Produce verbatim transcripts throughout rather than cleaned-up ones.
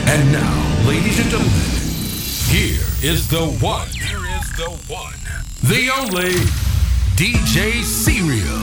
And now, ladies and gentlemen, here is the one, here is the one, the only D J Serial.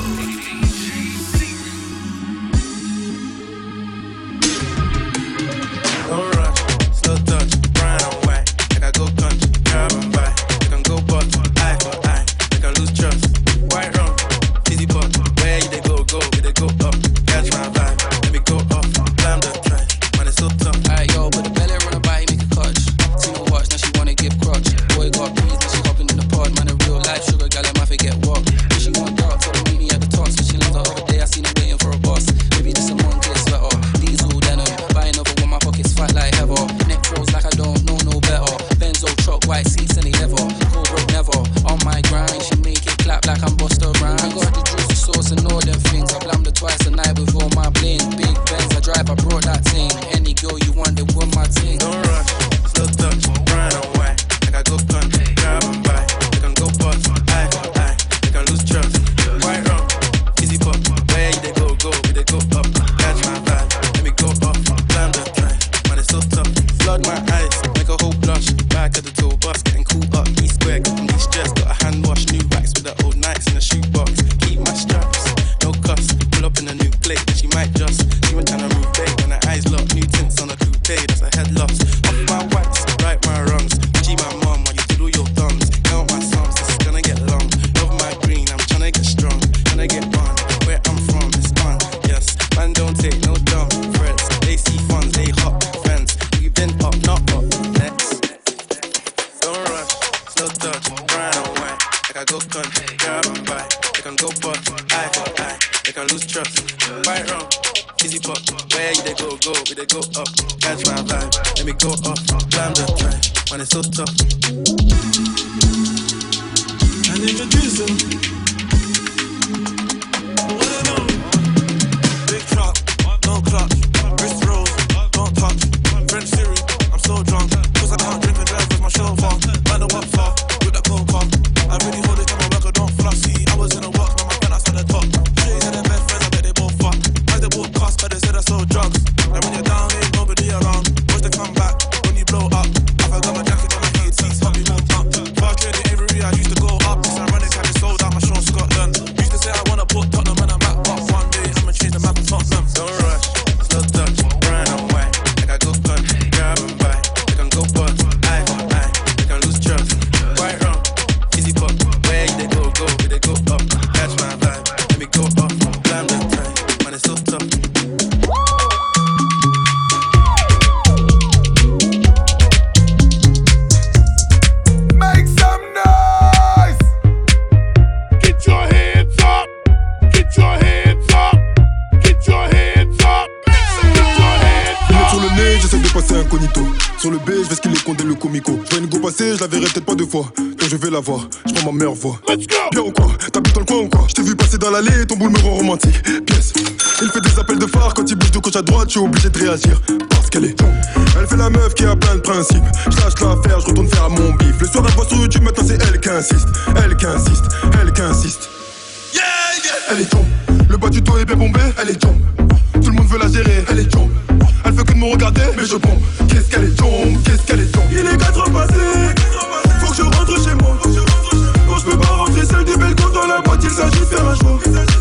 Je la verrai peut-être pas deux fois, quand je vais la voir, je prends ma meilleure voix. Bien ou quoi? T'habites dans le coin ou quoi? Je t'ai vu passer dans l'allée, ton boule me rend romantique. Pièce. Il fait des appels de phare, quand il bouge de gauche à droite, je suis obligé de réagir. Parce qu'elle est. Elle fait la meuf qui a plein de principes. Je lâche l'affaire, je retourne faire mon bif. Le soir elle voit sur YouTube, maintenant c'est elle qui insiste. Elle qui insiste, elle qui insiste. Yeah, yeah. Elle est tombe, le bas du dos est bien bombé. Elle est tombe, tout le monde veut la gérer. Elle est tombe, elle fait que de me regarder, mais je bombe. Qu'est-ce qu'elle est tombe, qu'est-ce qu'elle est tombe. Il est quatre heures passées. Faut que je rentre chez moi. Quand je peux pas rentrer, celle du balcon dans la boîte, il s'agit de faire un choix.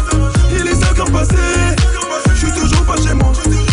Il est cinq heures passées, je suis toujours pas chez moi.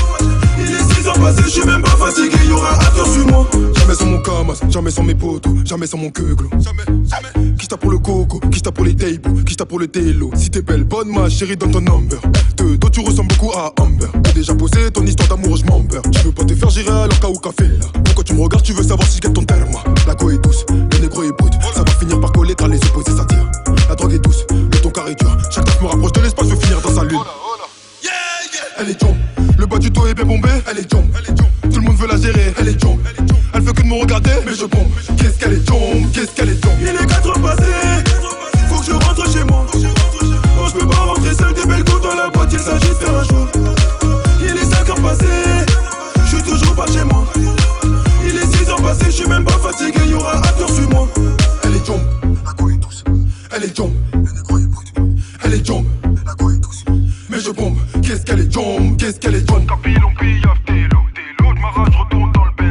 Il est six heures passées, je suis même pas fatigué, y'aura un tour sur moi. Jamais sans mon camas, jamais sans mes potos, jamais sans mon queuglo. Jamais, jamais. Qui tape pour le coco, qui tape pour les tables, qui tape pour le télo. Si t'es belle, bonne ma chérie, donne ton number. De dos tu ressembles beaucoup à Amber. T'as déjà posé ton histoire d'amour, je m'embeurre. Tu veux pas te faire gérer alors qu'à ou café là. Pourquoi tu me regardes, tu veux savoir si je gagne ton terme. La go est douce, le négro est brut. Ça va finir par coller car les opposés s'attirent. La drogue est douce, le ton carré dur. Chaque taf me rapproche de l'espace, je veux finir dans sa lune. Yeah, yeah. Elle est jombe, le bas du dos est bien bombé. Elle est jombe, tout le monde veut la gérer. Elle est jombe, elle fait que de me regarder, mais je bombe. Qu'est-ce qu'elle est jombe, qu'est-ce qu'elle est jombe. Il est quatre heures passées, faut que je rentre chez moi. Oh, je peux pas rentrer seul des belles côtes dans la boîte, il s'agit de faire un choix. Il est cinq heures passées, je suis toujours pas chez moi. Il est six heures passées, je suis même pas fatigué, y'aura un tour sur moi. Elle est jombe, la go est douce. Elle est jombe, le négro est brut. Elle est jombe, la go est douce. Mais je bombe, qu'est-ce qu'elle est jombe, qu'est-ce qu'elle est jombe. Tapis, l'on pille, t'es l'eau, t'es l'eau, j'm'arrache, retourne dans le bel.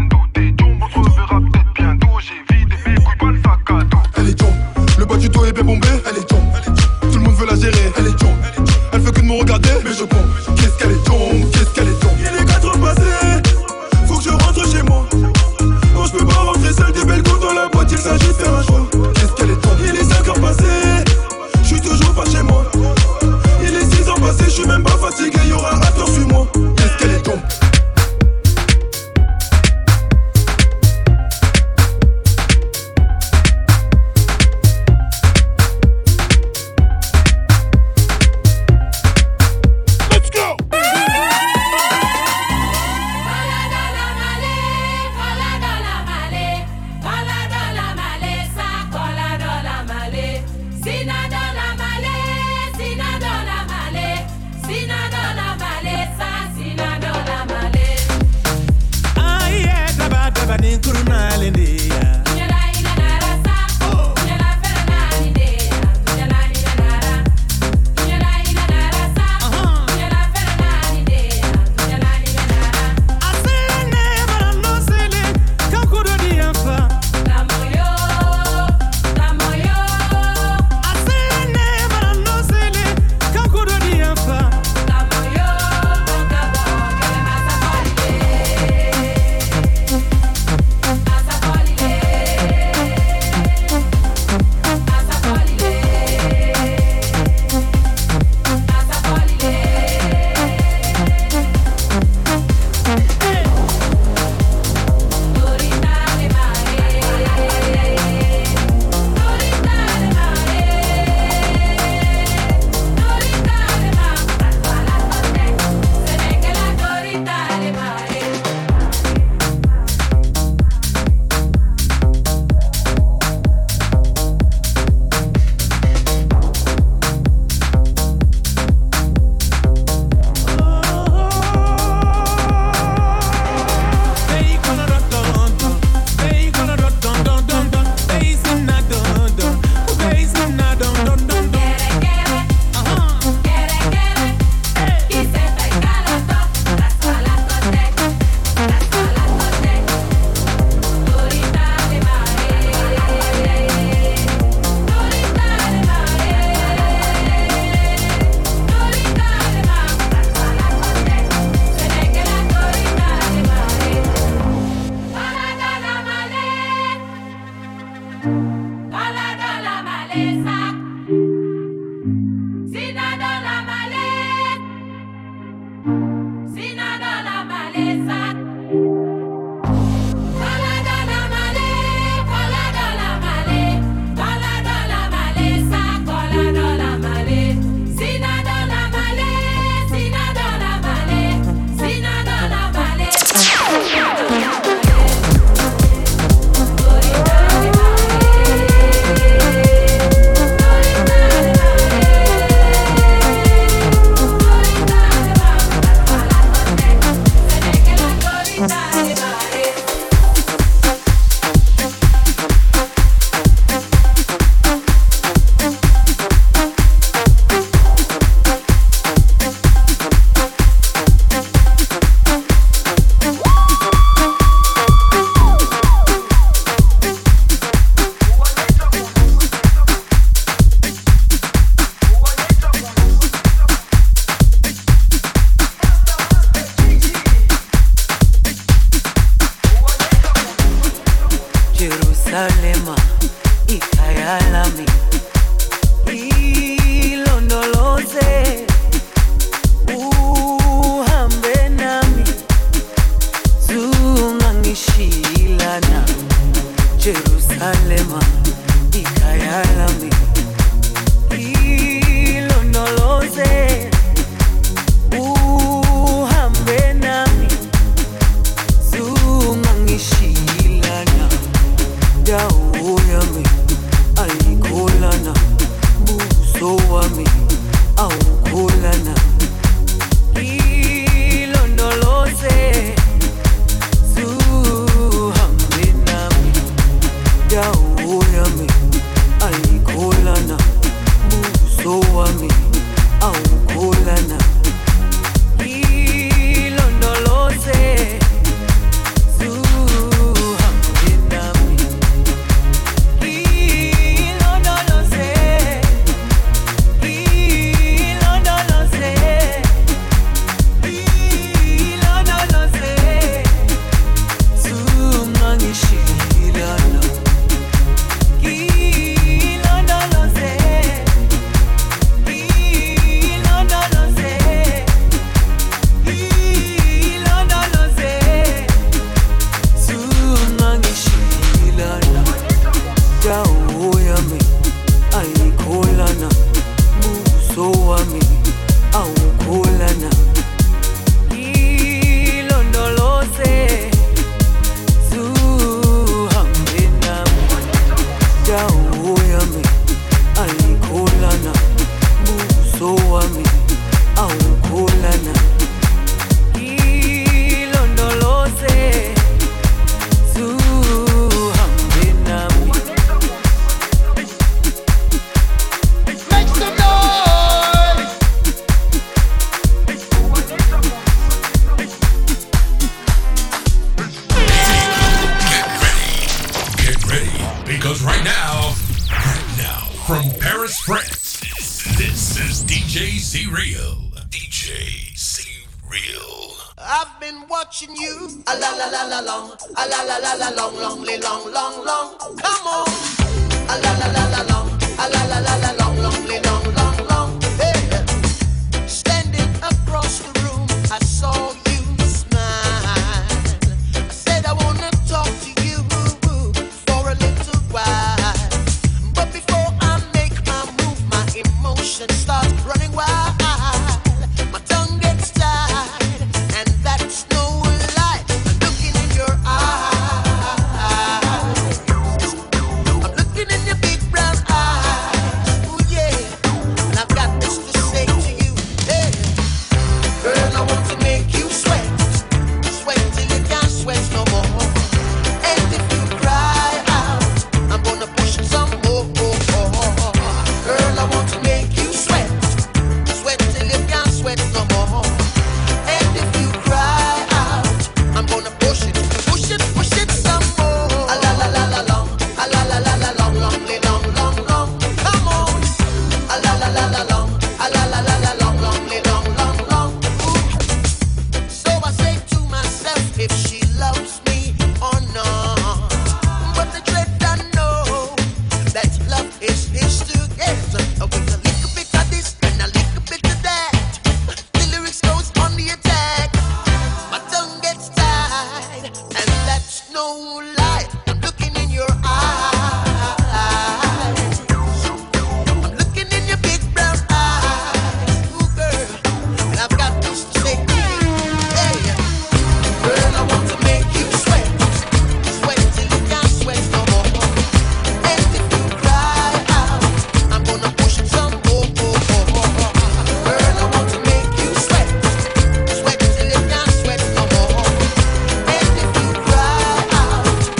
ungangishilana Jerusalema ikhaya lami ilondoloze uhambe nami zungangishilana dawo yami ayikholana buso wami awukholana ilondoloze zuhambe nami dawo yami ayikholana buso wami awukholana ilondoloze zuhambe nami ilondoloze ilondoloze ilondoloze zungangishilana ilondoloze ilondoloze ilondoloze zungangishilana dawo yami ayikholana buso wami awukholana ilondoloze zuhambe nami dawo yami ayikholana buso wami awukholana ilondoloze zuhambe nami. Make some noise! Get ready, because right now, right now, from Paris, France, this is D J C-Real. D J C-Real. I've been watching you. A la la la la long, a la la la la long, long, li- long, long, long. Come on. A la la la la long, a la la la la long, long, li- long, long, long. Hey. Standing across the room, I saw you smile. I said I wanna talk to you for a little while. But before I make my move, my emotion starts running wild. My tongue gets tied, and that's no lie. I'm looking in your eyes. I'm looking in your big brown eyes. Ooh, yeah. And I've got this to say to you. Hey. Girl, I want to make you sweat. Sweat till you can't sweat no more. And if you cry out, I'm gonna push it some more. Girl, I want to make you sweat. Sweat till you can't sweat no more. And if you cry out, I'm gonna push it, push it, push it some more. A la la la la long, a la la la la long, long, li- long, long, long. Come on. A la la la la long, a la la la la long, long, li- long, long, long. Ooh. So I say to myself, if she loves me or not. But the dread I know that love is his to get. With a little bit of this and a little bit of that, the lyrics goes on the attack. My tongue gets tied, and that's no lie. I'm looking in your eyes. I'm looking in your big brown eyes. Ooh, girl, and I've got this to say to you. Hey, girl, I want to make you sweat. Sweat till you can't sweat no more. And if you cry out, I'm gonna push it some more. Girl, I want to make you sweat. Sweat till you can't sweat no more. And if you cry out,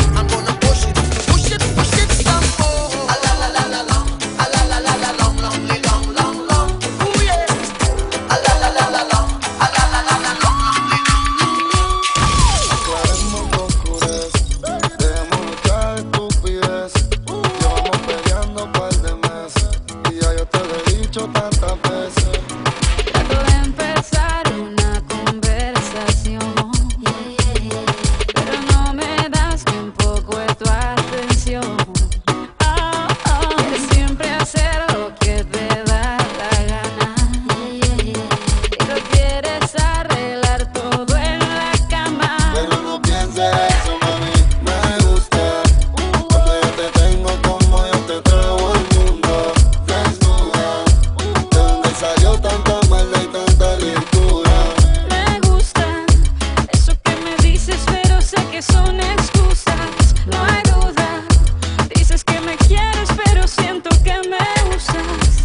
que son excusas, no hay duda. Dices que me quieres, pero siento que me usas.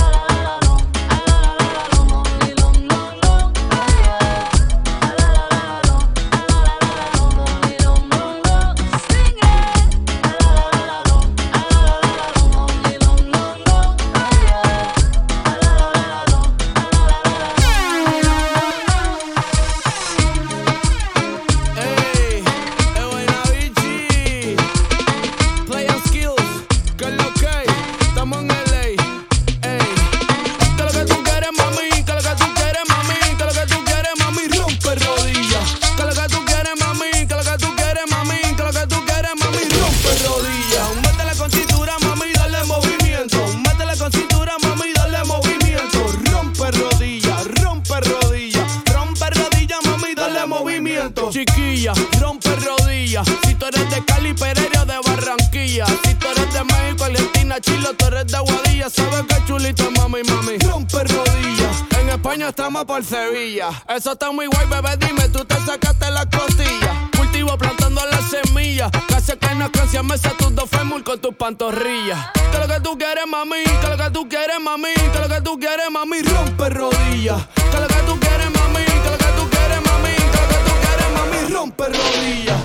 Chiquilla, rompe rodillas. Si tú eres de Cali, Pereira, de Barranquilla. Si tú eres de México, Argentina, Chile, tú eres de Aguadilla. Sabes que chulita, mami, mami. Rompe rodillas. En España estamos por Sevilla. Eso está muy guay, bebé, dime, tú te sacaste la costilla. Cultivo plantando las semillas. Casi que no canción, me sé tus dos fémur con tus pantorrillas. Que lo que tú quieres, mami, que lo que tú quieres, mami, que lo que tú quieres, mami. Rompe rodillas. Que lo que tú quieres, mami, que lo que tú quieres, mami. Rompe rodillas.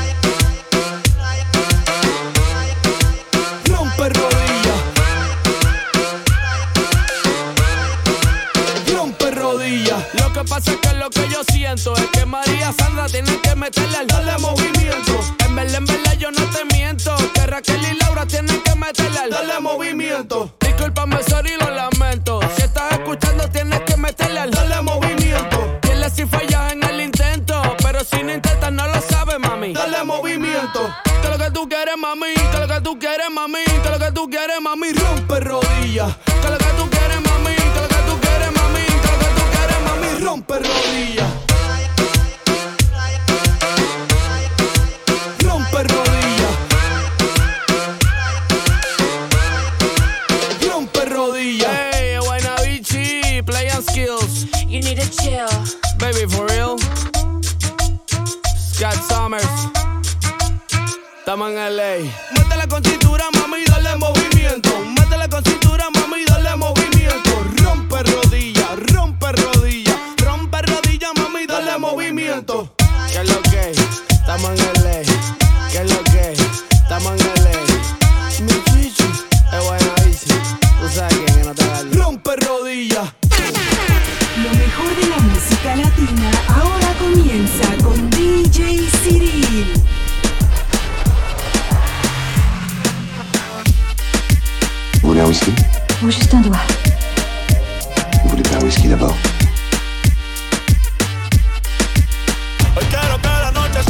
Rompe rodillas. Rompe rodillas. Lo que pasa es que lo que yo siento es que María Sandra tiene que meterle al darle movimiento. En verdad, en verdad yo no te miento. Que Raquel y Laura tienen que meterle al darle movimiento. Discúlpame, sorry, lo lamento. Si estás escuchando tienes que meterle al darle movimiento. Dile si fallas en el intento. Pero si no intentas no lo sabes, mami. Dale movimiento. Que lo que tú quieres, mami. Que lo que tú quieres, mami. Que lo que tú quieres, mami. Rompe rodillas. Que lo que tú quieres, mami. Que lo que tú quieres, mami. Que lo que tú quieres, mami. Rompe rodillas. Rompe rodillas. Rompe rodillas. Hey, Guaynabichi, play and skills. You need to chill. Baby, for real. Scott Summers, estamos en L A. Métele con cintura, mami, dale movimiento. Métele con cintura, mami, dale movimiento. Rompe rodillas, rompe rodillas. Rompe rodillas, mami, dale movimiento. ¿Qué es lo que? Estamos en L A. ¿Qué es lo que? Estamos en L A. Mi chichi, es buena bici. Tú sabes quién es, no te hagas. Rompe rodillas. Lo mejor de la música latina ahora comienza con D J Cyril. Vous voulez un whisky? Ou juste un doigt. Vous voulez pas un whisky d'abord? Hoy quiero que la noche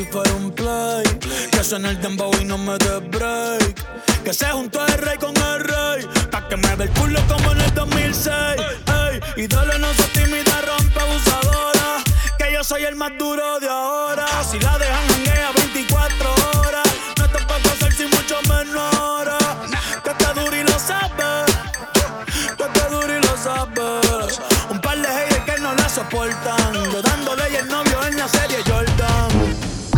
si fuera un play. Que suena el dembow y no me dé break. Que se juntó el rey con el rey, pa' que me ve el culo como en el dos mil seis. Ey, y dale, no se tímida, rompe abusadora. Que yo soy el más duro de ahora. Si la dejan janguea veinticuatro horas, no te puedo hacer sin mucho menos ahora. Que te duro y lo sabes, que te duro y lo sabes. Un par de haters que no la soportan, yo dándole y el novio en la serie Jordan.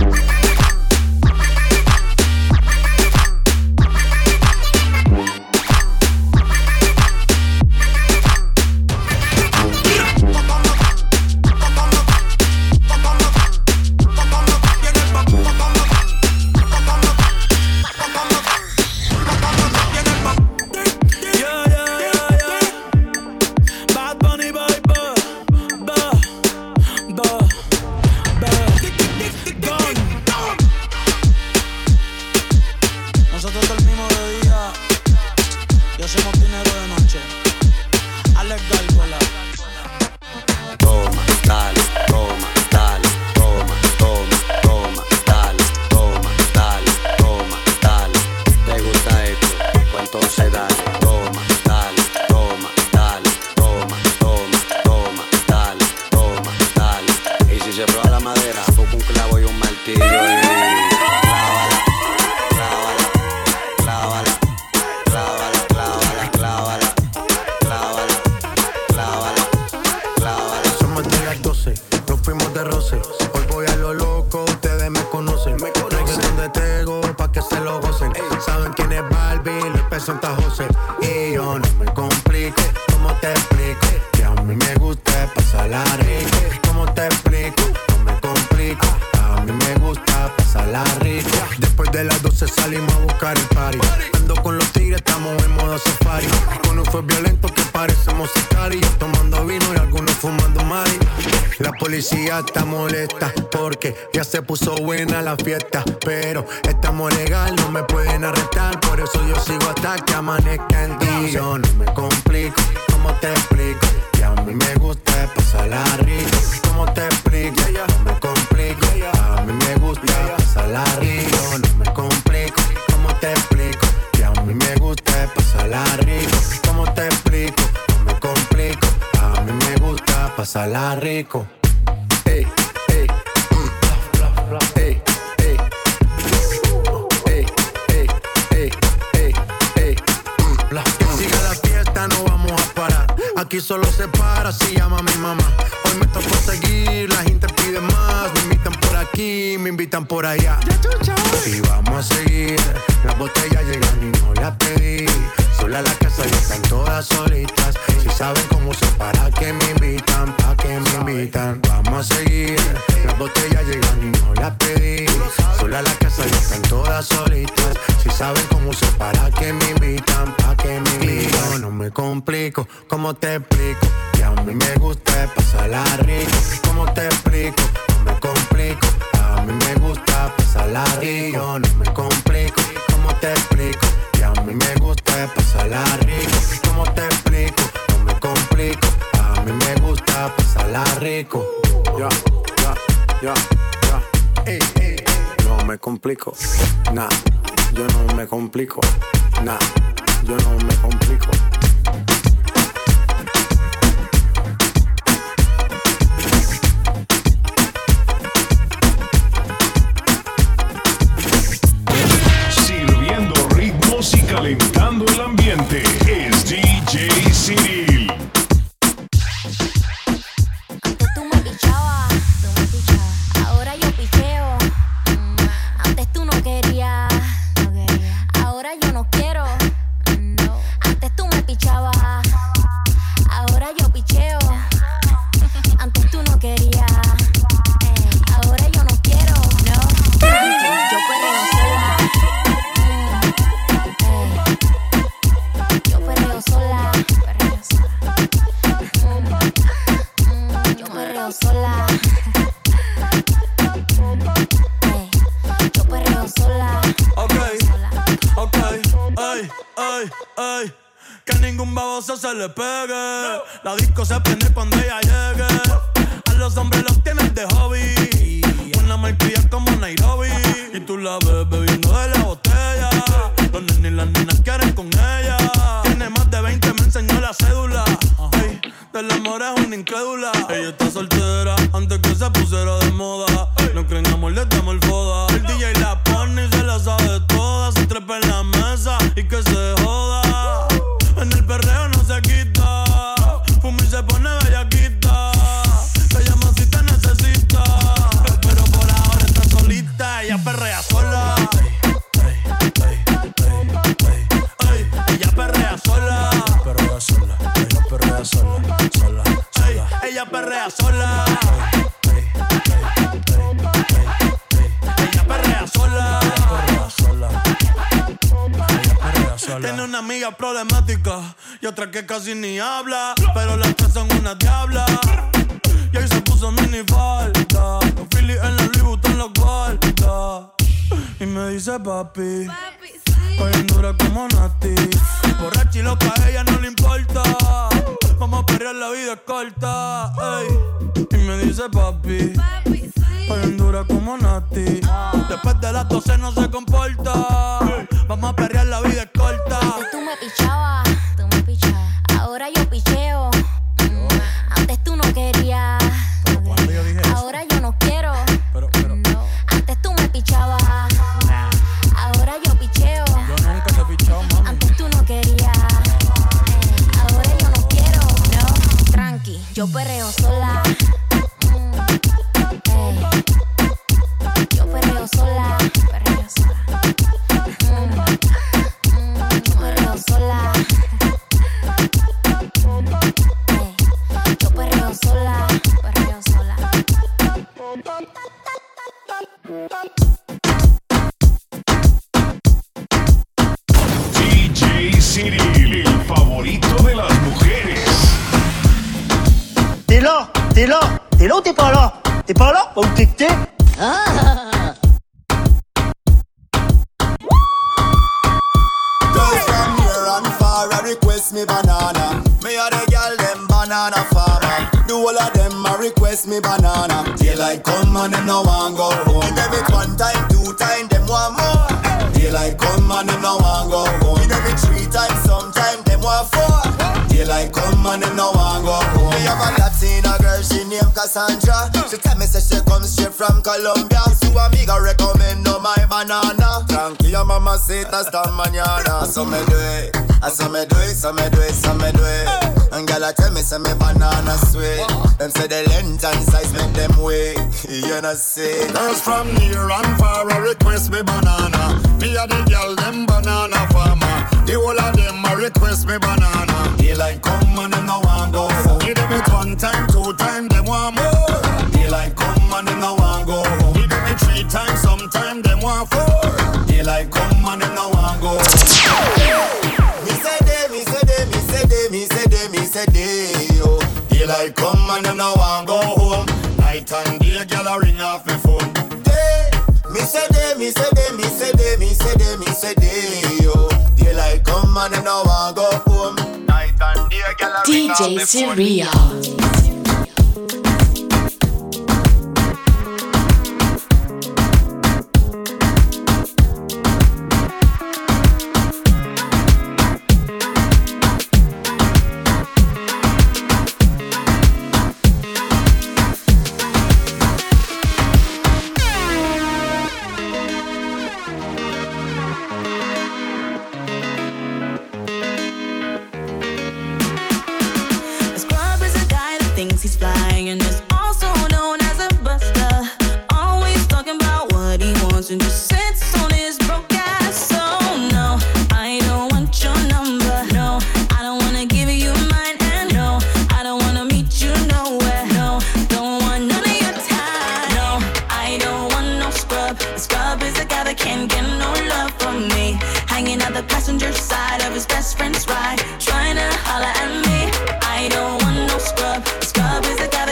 Está molesta porque ya se puso buena la fiesta, pero estamos legal, no me pueden arrestar, por eso yo sigo hasta que amanezca en ti. Yo no me complico, ¿cómo te explico? Que a mí me gusta pasarla rico. ¿Cómo te explico? No me complico, a mí me gusta pasarla rico. No me complico, ¿cómo te explico? Que a mí me gusta pasarla rico. ¿Cómo te explico? No me complico, a mí me gusta pasarla rico. Ey, ey, mm, ey, ey, ey, ey, ey, ey, ey, mm. Que siga la fiesta, no vamos a parar. Aquí solo se para si llama mi mamá. Hoy me tocó seguir, la gente pide más. Me invitan por aquí, me invitan por allá. Y vamos a seguir, las botellas llegan y no las pedí. Sola la casa ya están todas solitas. Si saben cómo se para que me invitan, pa' que me invitan. Vamos a seguir, las botellas llegan y no las pedí. Sola la casa ya están todas solitas. Si saben cómo se para que me invitan, pa' que me invitan. No me complico, ¿cómo te explico? Que a mí me gusta pasarla rico. ¿Cómo te explico? No me complico, a mí me gusta pasarla rico. No me complico, ¿cómo te explico? Que a mí me gusta pasarla rico. ¿Cómo te explico? No me complico, a mí me gusta pasarla rico. Ya, ya, ya, ya. Ey, ey, no me complico, nah, yo no me complico, nah, yo no me complico. Sirviendo ritmos y calentando el ambiente es D J Cyril. Antes tú me pichabas, tú me pichabas. Ahora yo picheo. Antes tú no querías, no quería. Ahora yo no quiero. No. Antes tú me pichabas. Ahora yo picheo. Antes tú no querías. Ahora yo no quiero. No. Yo perreo sola. Yo perreo sola. Perreo sola. Yo perreo sola. Yo perreo sola. Ok, ok, ay, ay, ay. Que ningún baboso se le pegue. La disco se prende cuando ella llegue. A los hombres los tienen de hobby. Una la malcria como Nairobi. Y tú la ves bebiendo de la botella. Los nenes y las nenas quieren con ella. Tiene más de veinte, me enseñó la cédula. Ey, del amor es una incrédula. Ella está soltera antes que se pusiera de moda. No creen amor, le damos el foda. El D J la pone y se la sabe toda. Se trepa en la mesa y que se joda. En el perreo no se quita. Fuma y se pone bellaquita. Te llama si te necesita. Pero por ahora está solita. Ella perrea sola. Ella perrea sola. Perrea sola. Ella perrea sola. Sola. Sola. Ella perrea sola. Ella perrea sola. Perrea sola. Ella perrea sola. Tiene una amiga problemática y otra que casi ni habla, pero las tres son una diabla. Y ahí se puso mini falta. Los Phillies en la Louis Vuitton los guarda. Y me dice papi, estoy en dura como Nati. Borracha y loca, a ella no le importa. Vamos a perrear, la vida es corta. Ey. Y me dice papi, estoy en dura como Nati. Después de las doce no se comporta. Vamos a perrear, la vida es corta. Antes tú me pichabas, tú me pichabas. Ahora yo picheo. Mm, Antes tú no querías. Yo dije Ahora yo no quiero. Pero, pero. No. Antes tú me pichabas. Nah. Ahora yo picheo. Yo nunca te he pichado, mami. Antes tú no querías. Ahora yo no quiero. No. Tranqui, yo perreo sola. Mm, ey. Yo perreo sola. Perreo sola. Mm, mm, perreo sola. Ey. Yo perreo sola. Perreo sola. D J Cyril, el favorito de las mujeres. T'es là, t'es là, t'es là ou t'es pas là? T'es pas là ou t'es que t'es? Ah! Girls from near and far, I request me banana. Me a the girl them banana farmer. Do all of them a request me banana. Daylight come and them no want go home. Me them it one time, two time, them want more. Daylight come and them no want go home. Me them it three times, sometime them want four. Daylight come and them no want go home. Me have a Latina girl, she named Cassandra. She tell me say she comes straight from Colombia. So amiga recommend no my banana. Tranquila mamacita esta mañana. So me do it, I so me do it, so me do it, so me do it. And girl I tell me say me banana sweet. Them say the length and size make them wait. You know say girls from near and far a request me banana. Me a the girl them banana farmer. The whole of them a request me banana. Daylight come and them no want go home. Give them it one time, two time, them want more. Daylight come and them no want go home. Give them it three times, sometime them want four. Daylight come and them no want go home. Me say they, me say they, me say they, me say they, me say they, oh. Daylight come and them no want go home. Night and day, girl a ring off me phone. They, me say they, me say they, me say they, me say they, me say they, oh. Daylight come and them no want go home. Night and day, girl a ring off me phone. D J Cyril. He's flying and is also known as a buster. Always talking about what he wants and just sits on his broke ass. So no, I don't want your number. No, I don't wanna give you mine. And no, I don't wanna meet you nowhere. No, don't want none of your time. No, I don't want no scrub. A scrub is a guy that can't get no love from me. Hanging out the passenger side of his best friend's ride, trying to holler at me. I don't want no scrub. Scrub is a guy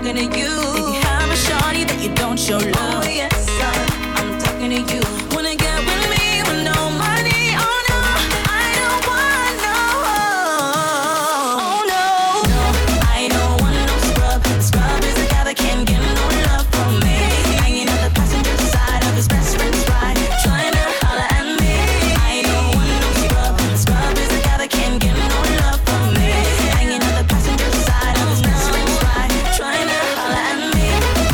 talking to you. If you have a shawty that you don't show love, oh yes, sir, I'm talking to you. Wanna get with me with no money? Oh no, I don't want no. Oh no, no, I don't want no scrub. Scrub is a guy that can't get no love from me. Hanging on the passenger side of his best friend's ride, trying to holler at me. I don't want no scrub. Scrub is a guy that can't get no love from me. Hanging on the passenger side of his best friend's ride, trying to holler at me.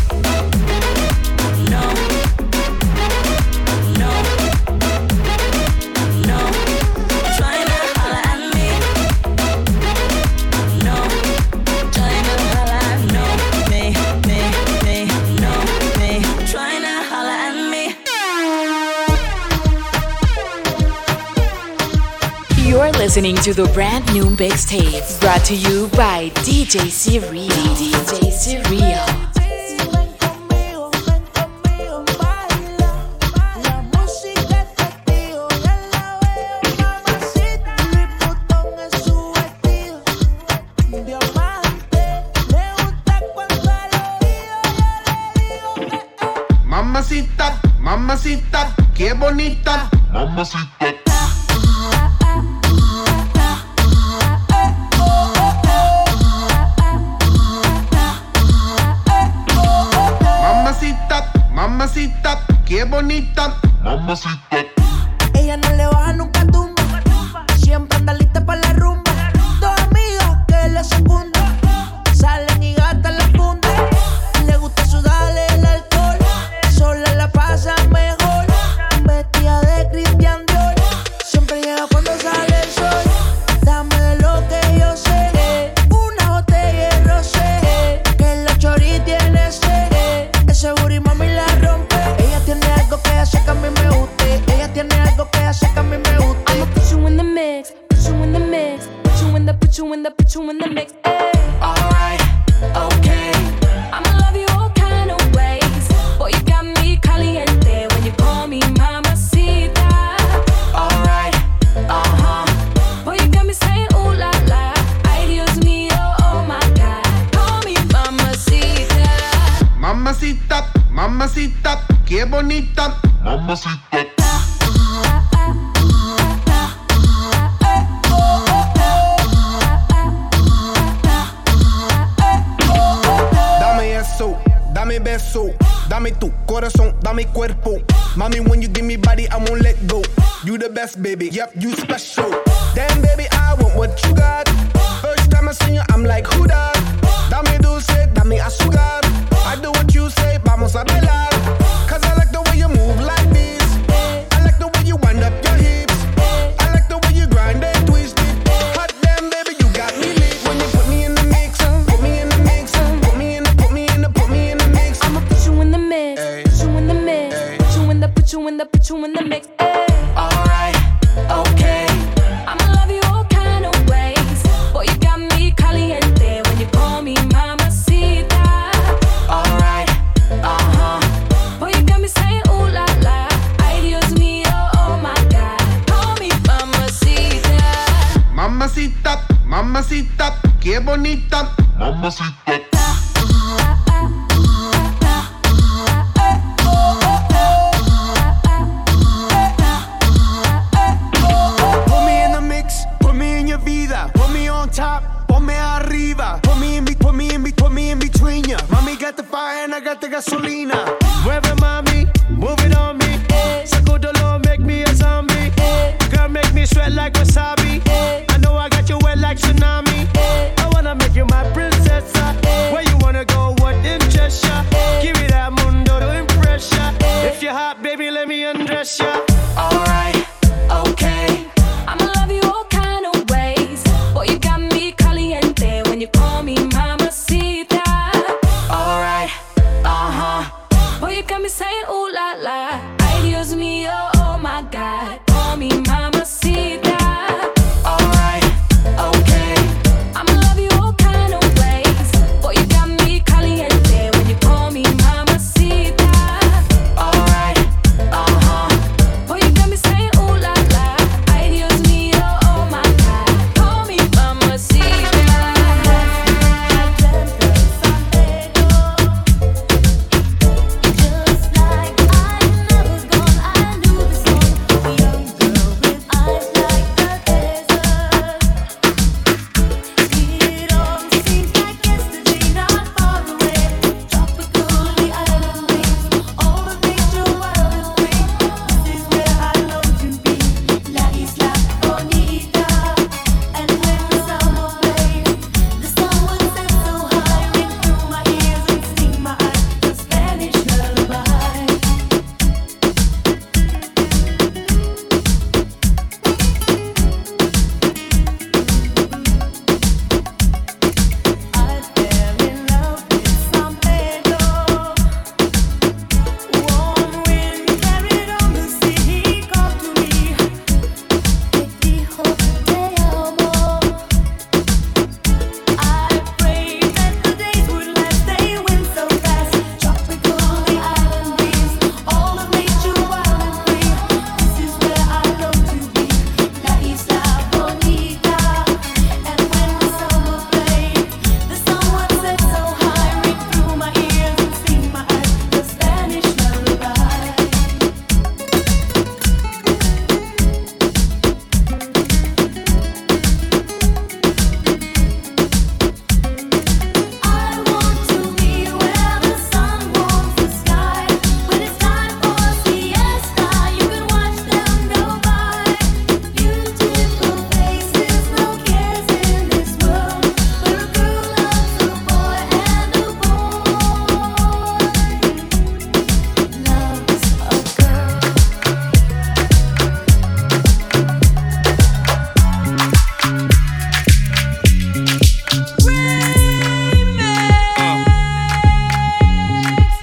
No, no, no, trying to holler at me. No, trying to holler at no me, me, me, no me, trying to holler at me. You're listening to the brand new mixtape brought to you by D J C-Real. D J C-Real. Mamacita, mamacita, qué bonita. Mamacita. Mamacita, mamacita, qué bonita. Mamacita. Ella no le baja nunca tumba. Siempre anda lista para la rumba. Dos amigas que la secundan. Salen y gastan la funda. Le gusta sudarle el alcohol. Sola la pasa mejor. Vestida de Christian Dior. Siempre llega cuando sale el sol. Dame de lo que yo sé. Una botella de rosé. Que la chori tiene sed. Ese booty mami la rompe. Ella tiene algo que hace que a mí me guste. Ella tiene algo que hace que a mí me guste. I'ma put you in the mix, put you in the mix, put you in the, put you in the, put you in the mix. Ay. Alright, okay. I'ma love you all kind of ways. Boy, you got me caliente when you call me mamacita. Alright, uh-huh. Boy, you got me saying ooh la la. Ay, Dios mío, oh my God. Call me mamacita. Mamacita, mamacita, qué bonita. Mamacita. Dame eso, dame beso, dame tu corazón, dame cuerpo. Mami, when you give me body, I won't let go. You the best, baby, yep, you special. Damn, baby, I want what you got. First time I seen you, I'm like, who that? Dame dulce, dame azúcar. I do what you say, vamos a bailar. Cause I like the way you move like this. I like the way you wind up your hips. I like the way you grind and twist it. Hot damn, baby, you got me lit. When you put me in the mix, put me in the mix, put me in the, put me in the, put me in the mix. I'ma put you in the mix, Ay. put you in the mix, Ay. put you in the, put you in the, put you in the mix. Ay. Alright, okay. I'ma love you all kind of ways. Boy, you got me caliente when you call me mamacita. Alright, uh-huh. Boy, you got me saying ooh la la. Ay, Dios mío, oh my God. Call me mamacita. Mamacita, mamacita, qué bonita. Mamacita. Put me in the mix, put me in your vida. Put me on top, ponme arriba. Put me in, be, put me in, be, put me in between ya. Mami got the fire and I got the gasolina. Mueve mami, move it on me. Sacudolo, make me a zombie. Girl, make me sweat like wasabi. I know I got you wet like tsunami. I wanna make you my princess. Where you wanna go, what interests ya? Give me that mundo to impress ya. If you're hot, baby, let me undress ya. Alright, okay. I'ma love you all kind of ways. Boy, you got me caliente when you call me mamacita. Alright, uh-huh. Boy, you got me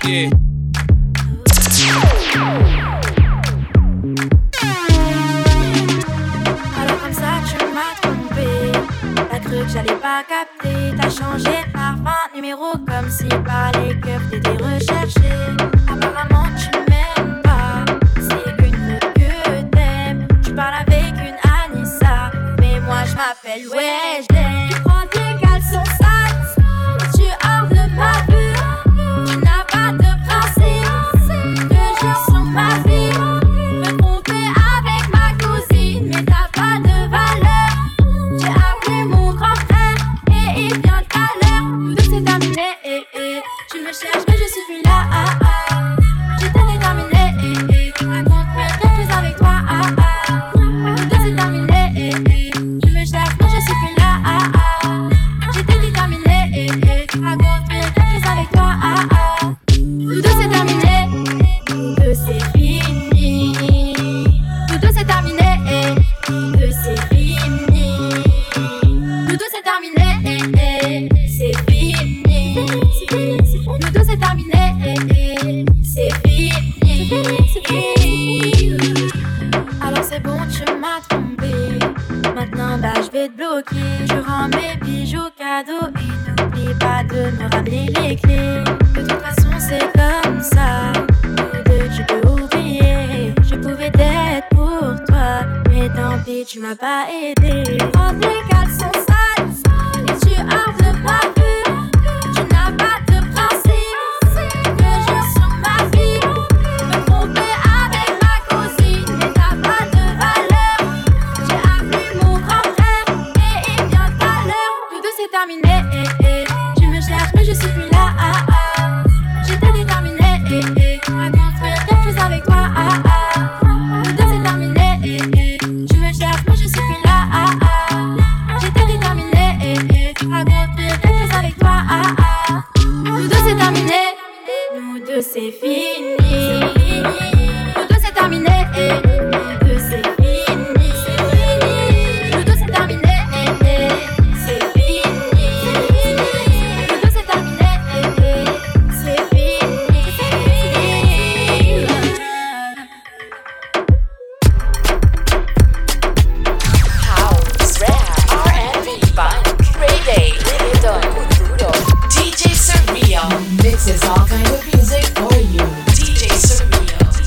Yeah. Alors comme ça tu m'as trompé. T'as cru que j'allais pas capter. T'as changé de parfum, numéro comme si par les keufs t'étais recherché. Apparemment tu m'aimes pas. C'est qu'une autre que t'aimes. Tu parles avec une Anissa. Mais moi je m'appelle Wesley. Tu prends tes caleçons sales. Tu hors de ma vue. Tu n'as pas de principe. Que je sens ma vie. Me tromper avec ma cousine. Mais t'as pas de valeur. J'ai appelé mon grand frère. Et il vient tout à l'heure. Tout c'est terminé. Eh, eh. Tu me cherches mais je suis là. Ah, ah. J'étais déterminée. Eh, eh. Raconte-moi quelque chose avec toi. Ah, ah. Tout c'est terminé. Eh, eh. Tu me cherches mais je suis plus là. Ah, ah. J'étais déterminée. Eh, eh. Raconte-moi quelque chose avec toi. Ah, ah. Tout c'est terminé. Tout c'est fini. Tout c'est terminé. Eh. Tout c'est fini. Tout c'est terminé. Eh, eh. C'est fini. Tout c'est terminé. Eh, eh. C'est fini. C'est fini. Alors c'est bon, tu m'as trompé. Maintenant, bah je vais te bloquer. Je rends mes bijoux cadeaux et n'oublie pas de me ramener les clés. De toute façon, c'est comme ça. Nous deux, tu peux oublier. Je pouvais t'être pour toi, mais tant pis, tu m'as pas aidé. Prends tes caleçons sales et tu hors de ma vue. Tu n'as pas de principe. Que je sens ma vie. Me tromper avec ma cousine, mais t'as pas de valeur. J'ai appelé mon grand frère et il vient tout à l'heure. Tout c'est terminé. Eh, eh. Tu me cherches mais je suis plus là. Ah, ah. J'étais déterminée. Eh, eh. Raconte-moi quelque chose avec toi. Ah, ah. Tout c'est terminé. Eh, eh. Tu me cherches mais je suis plus là. Ah, ah. J'étais déterminée. Eh, eh. Raconte-moi quelque chose avec toi. Ah, ah. Nous deux c'est terminé. Nous deux c'est fini. Nous deux c'est terminé. Eh. Nous deux c'est fini. Nous deux c'est terminé. Eh, eh. C'est fini. Nous deux c'est terminé. Eh, eh. C'est fini. House, rap, R and B, funk, reggae, reggaeton, brutal. D J Surreal mixes all kind of music for you. D J Surreal.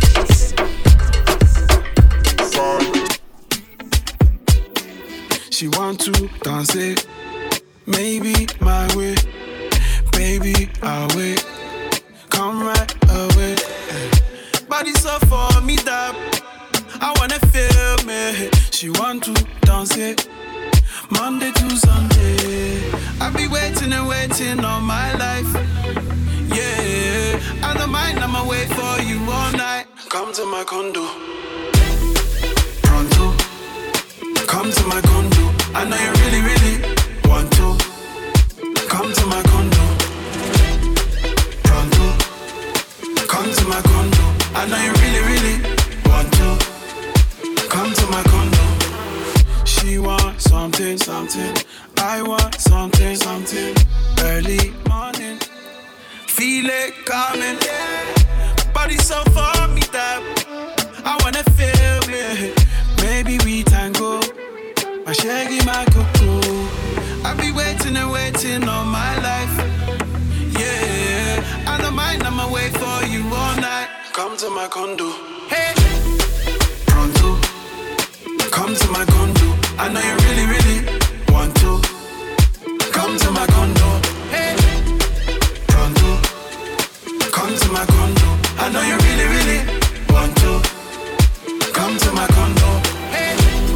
She want to dance it, maybe my way, baby I'll wait, come right away. Body so for me that I wanna feel me. She want to dance it, Monday to Sunday. I be waiting and waiting all my life. Yeah, I don't mind, I'ma wait for you all night. Come to my condo, pronto. Come to my condo. I know you really, really want to. Come to my condo. Pronto. Come to my condo. I know you really, really want to. Come to my condo. She want something, something. I want something, something. Early morning. Feel it coming. Body so for me that I wanna feel me. Maybe we tango. My shaggy, my cuckoo. I be waiting and waiting all my life. Yeah, I don't mind, I'ma wait for you all night. Come to my condo. Hey, pronto. Come to my condo. I know you really, really want to. Come to my condo. Hey, pronto. Come to my condo. I know you really, really want to. Come to my condo. Hey.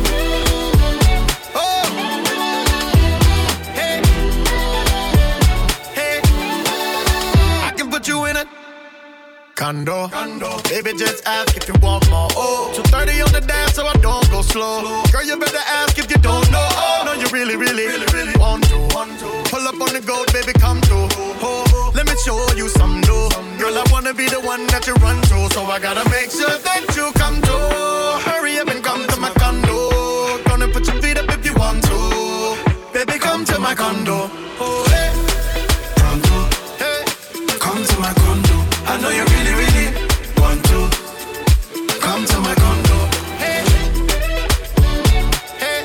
Oh. Hey. Hey. I can put you in a condo. condo. Baby, just ask if you want more. Oh. two thirty on the dance so I don't go slow. Girl, you better ask if you don't know. Oh. No, you really, really, really, really want to. Want to. Pull up on the goat, baby, come through. Oh. Let me show you some dough. Girl, I wanna be the one that you run to. So I gotta make sure that you come to. Hurry up and come to my condo. Gonna put your feet up if you want to. Baby, come to my condo. Oh, hey. Pronto. Hey. Come to my condo. I know you really, really want to come to my condo. Hey, hey,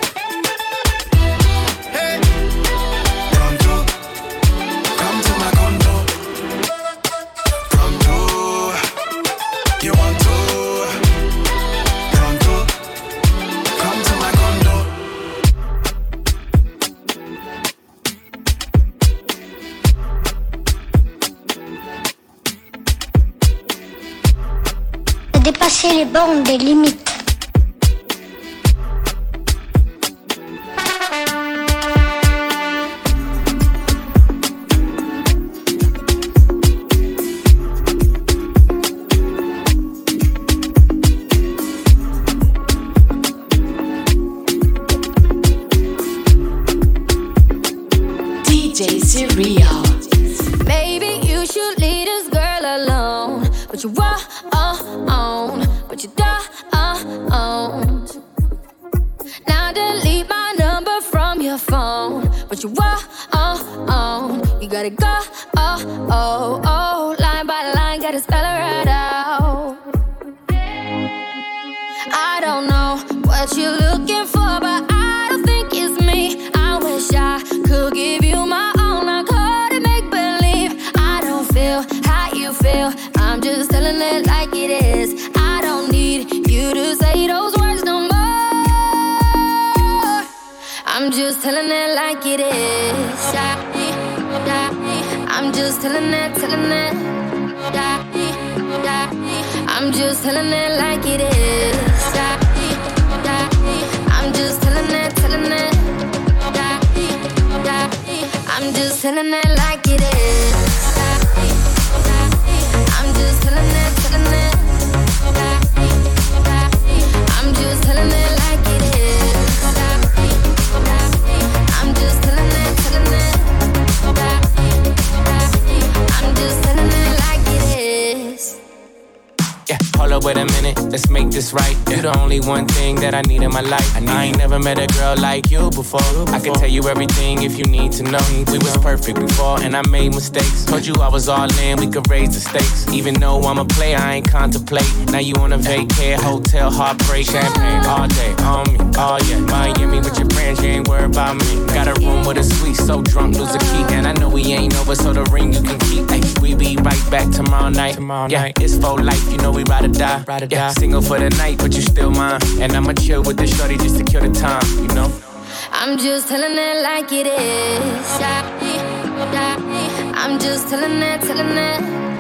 hey, pronto, come to my condo. Pronto, you want to? Pronto, come to my condo. Dépasser les bornes des limites. D J Cereal. Maybe you should leave this girl alone, but you are on, but you don't. Now delete my number from your phone, but you are on. You gotta go, oh, oh, oh, line by line, gotta spell it right out. I don't know what you're looking for, but I don't think it's me. I wish I could give you my own, I couldn't make believe. I don't feel how you feel, I'm just telling it like it is. I don't need you to say those words no more. I'm just telling it like it is. I'm just telling it, telling it. I'm just telling it like it is. I'm just telling it, telling it. I'm just telling it like it is. I'm just telling it, telling it. I'm just telling it like it is. I'm just telling it, telling it. I'm just telling it like it is. Yeah, hold up, wait a minute, let's make this right. You the only one thing that I need in my life. I, I ain't never met a girl like you before. I can tell you everything if you need to know. We was perfect before and I made mistakes. Told you I was all in, we could raise the stakes. Even though I'm a player, I ain't contemplate. Now you on a vacay, hotel, heartbreak. Champagne all day, on me, oh yeah. Miami with your friends, you ain't worried about me. Got a room with a suite, so drunk, lose a key. And I know we ain't over, so the ring you can keep. Ay, we be right back tomorrow night. Tomorrow yeah, night. It's for life, you know we ride or die. Ride or yeah, die. Single for the night, but you still mine. And I'ma chill with the shorty just to kill the time, you know? I'm just telling it like it is. I'm just telling it, telling it.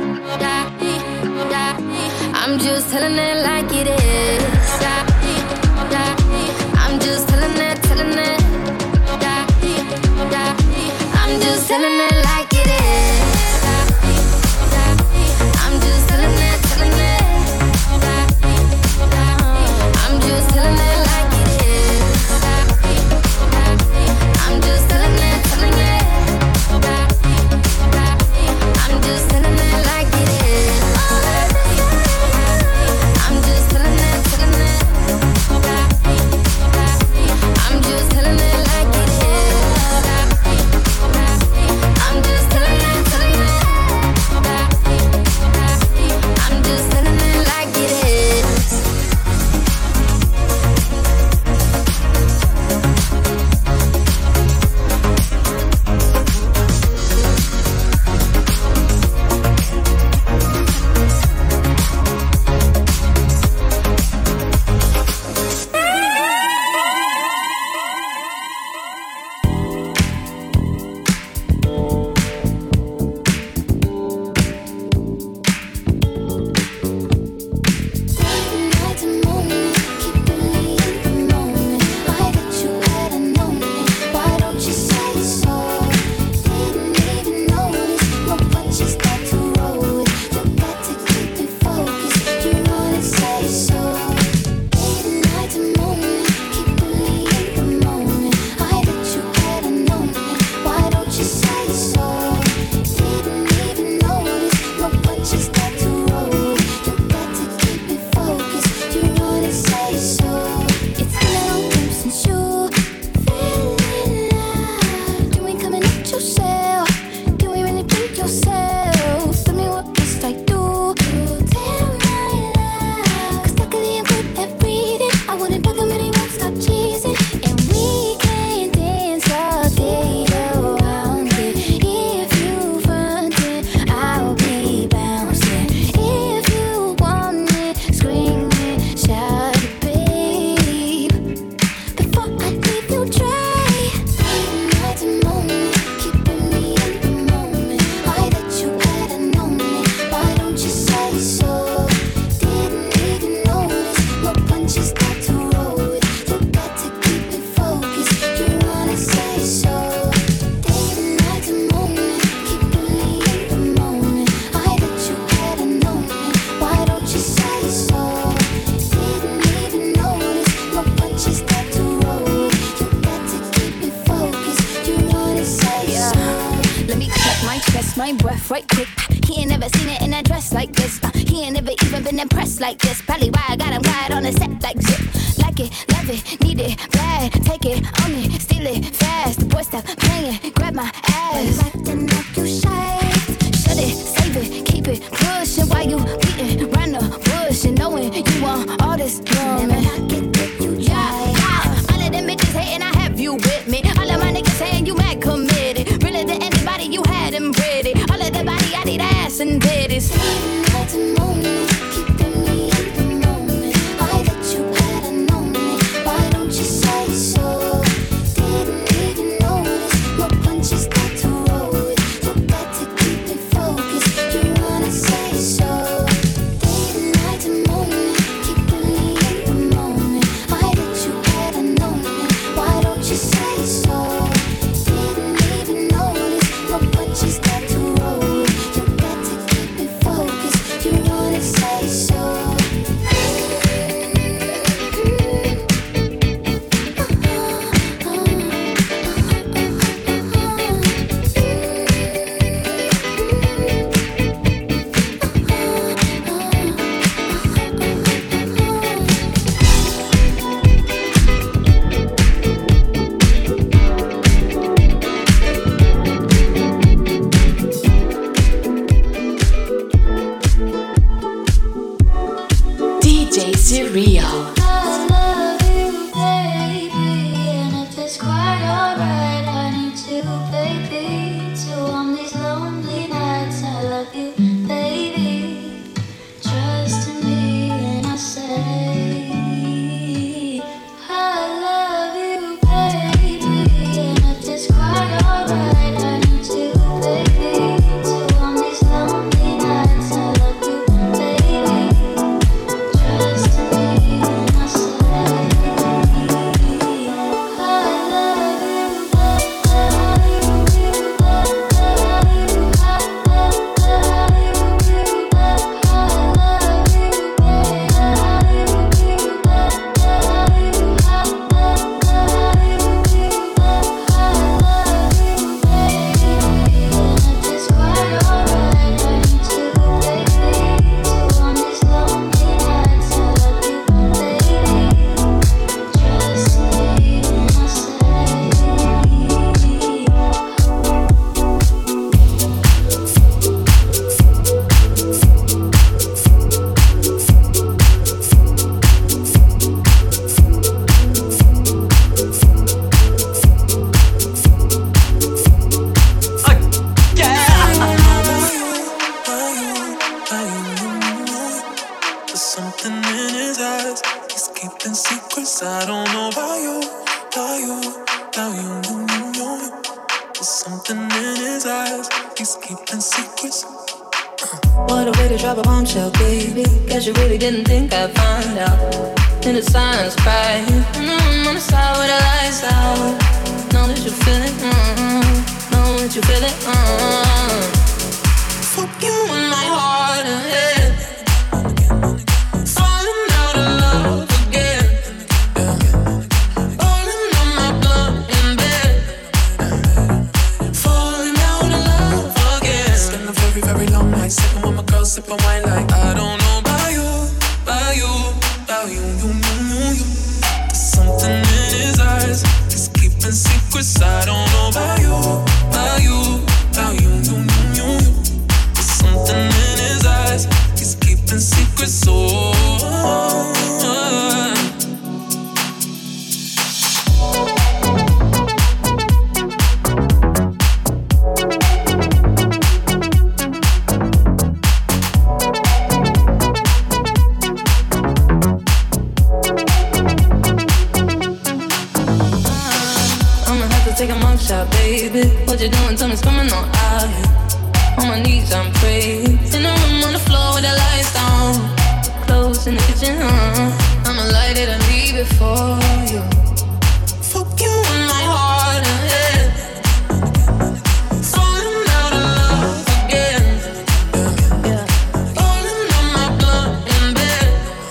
I'm just telling it like it is. I'm just telling it, telling it. I'm just telling it like it is. I'm just telling it, telling it. I'm just telling it like it is. I'm just telling it, telling it. I'm just telling it like it is. I'm off-white chick. He ain't never seen it in a dress like this. Uh, he ain't never even been impressed like this. Probably why I got him quiet on the set like zip. Like it, love it, need it, bad. Take it, own it, steal it, fast. The boy stop playing, grab my ass. Acting like you shy. Shut it, save it, keep it pushing while you beating round the bush and knowing you want all this woman. Never not get that you try. Yeah, all of them bitches hating, I have you with me. All of my niggas saying you mad committed. Really to anybody you had them ready. All of the body I need ass and titties. At the moment, keeping me in the moment. I that you had known it. Why don't you say so? Didn't even notice. No punches got to roll with. You got to keep it focused. You wanna say so? Day and night and moment, keeping me in the moment. I that you had known it. Why don't you say so? Didn't even notice. No punches got to roll with. You got to keep it focused. You wanna say so? D J Surreal. I love you, baby, and if it's quite alright, I need you, baby, to on these lonely nights. I love you, baby. Trust in me when I say I love you, baby, and if it's quite alright, I need you, baby, to on these lonely nights. I love you, baby. Trust in me when I What a way to drop a bombshell, baby. Guess you really didn't think I'd find out. In the silence, cry. Mm-hmm, on the side with the lights out. Know that you feel it, mm-hmm. Know that you feel it, mm-hmm. Fuck you in my heart and head. Falling out of love again. Falling on my blood in bed. Falling out of love again. Spend a very, very long night sipping with my girl, sipping wine like I don't know about you, about you, about you, you, you, you, you. There's something in his eyes, he's keeping secrets. I don't know about you, about you, about you, you, you, you, you. There's something in his eyes, he's keeping secrets. So. Oh, take a mugshot, baby. What you doing? Tell me, coming on out here. On my knees, I'm praying. In the room on the floor with the lights down. Clothes in the kitchen, uh. I'ma light it and leave it for you. Fuck you in my heart and head. Falling out of love again. Yeah. Falling on my blood in bed.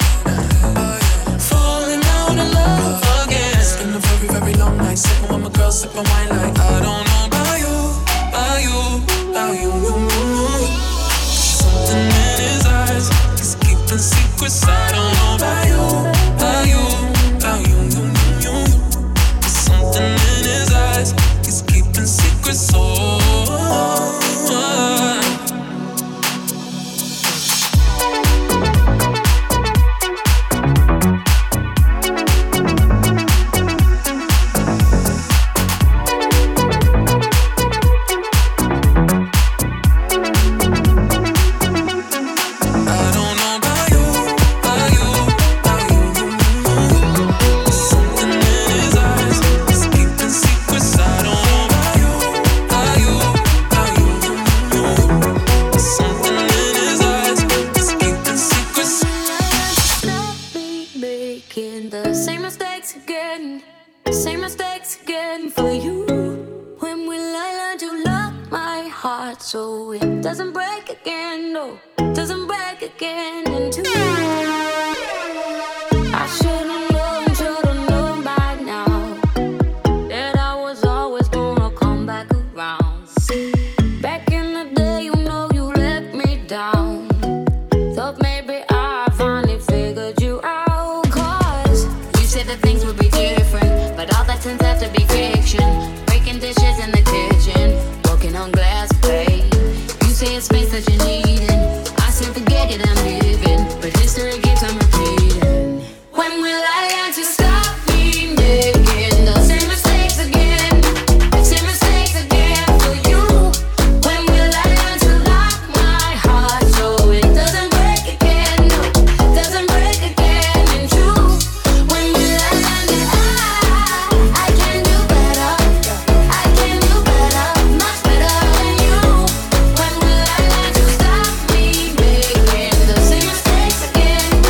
Falling out of love again. It's been a very, very long night. Sipping with my girl, sipping wine like I don't know about you, about you, doesn't break again, no, doesn't break again into. I should've known, should've known by now that I was always gonna come back around. Back in the day, you know you let me down. Thought maybe I finally figured you out. Cause you said that things would be different, but all that turns out to be fiction. Breaking dishes in the kitchen, walking on glass plate. You say it's space that you're needing. I said forget it, I'm living, but history keeps on repeating. When will I learn to stop me making the same mistakes again? The same mistakes again for you. When will I learn to lock my heart so it doesn't break again? No, doesn't break again in truth. When will I learn that I, I can do better? I can do better, much better than you. When will I learn to stop me making the same mistakes again?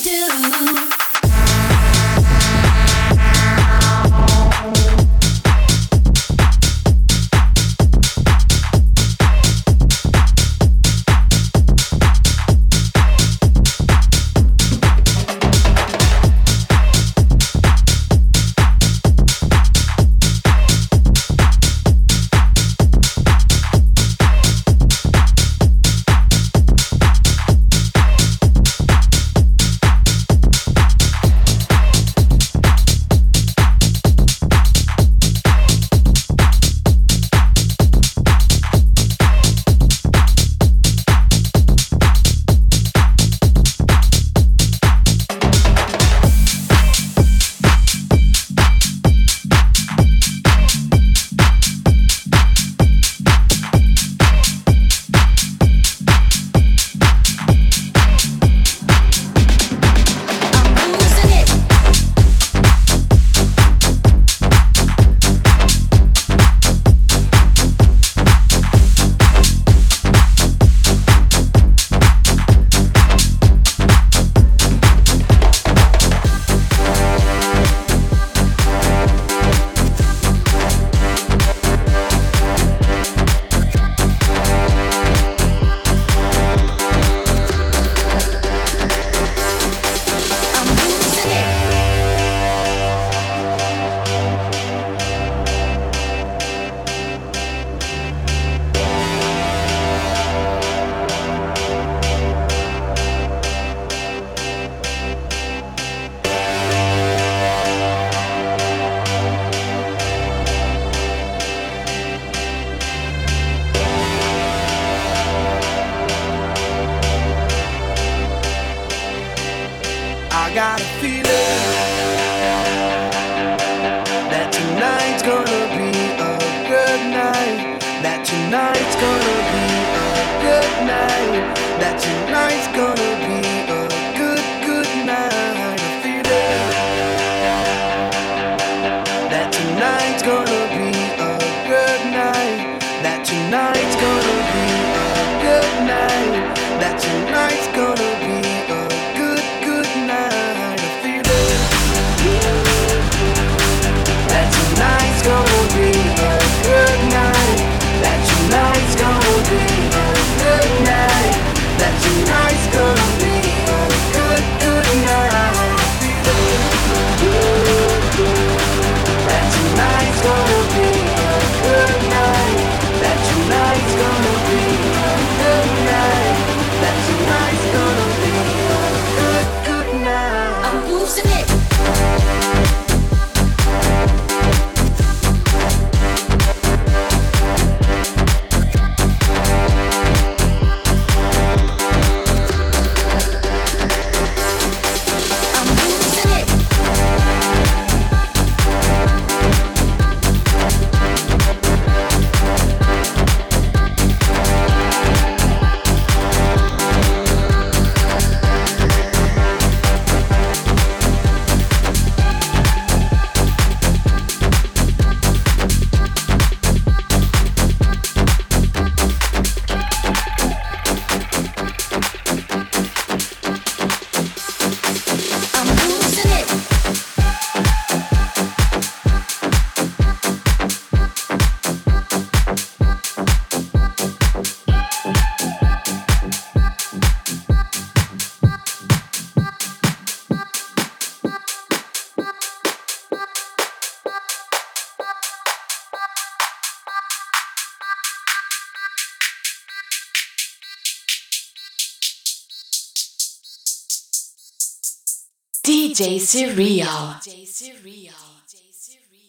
do. I got a feeling that tonight's gonna be a good night. That tonight's gonna be a good night. That tonight's gonna be a good, good night. A feeling that tonight's gonna be a good night. That tonight's gonna be a good night. That tonight's gonna be a good, good night. A feeling that tonight's gonna be a good night. That tonight's gonna be a good night. That tonight's gonna be a good, good night. A feeling that tonight's gonna be a good night. That tonight's gonna be a good night. That tonight's gonna be a good, good night. I'm losing it. D J Surreal.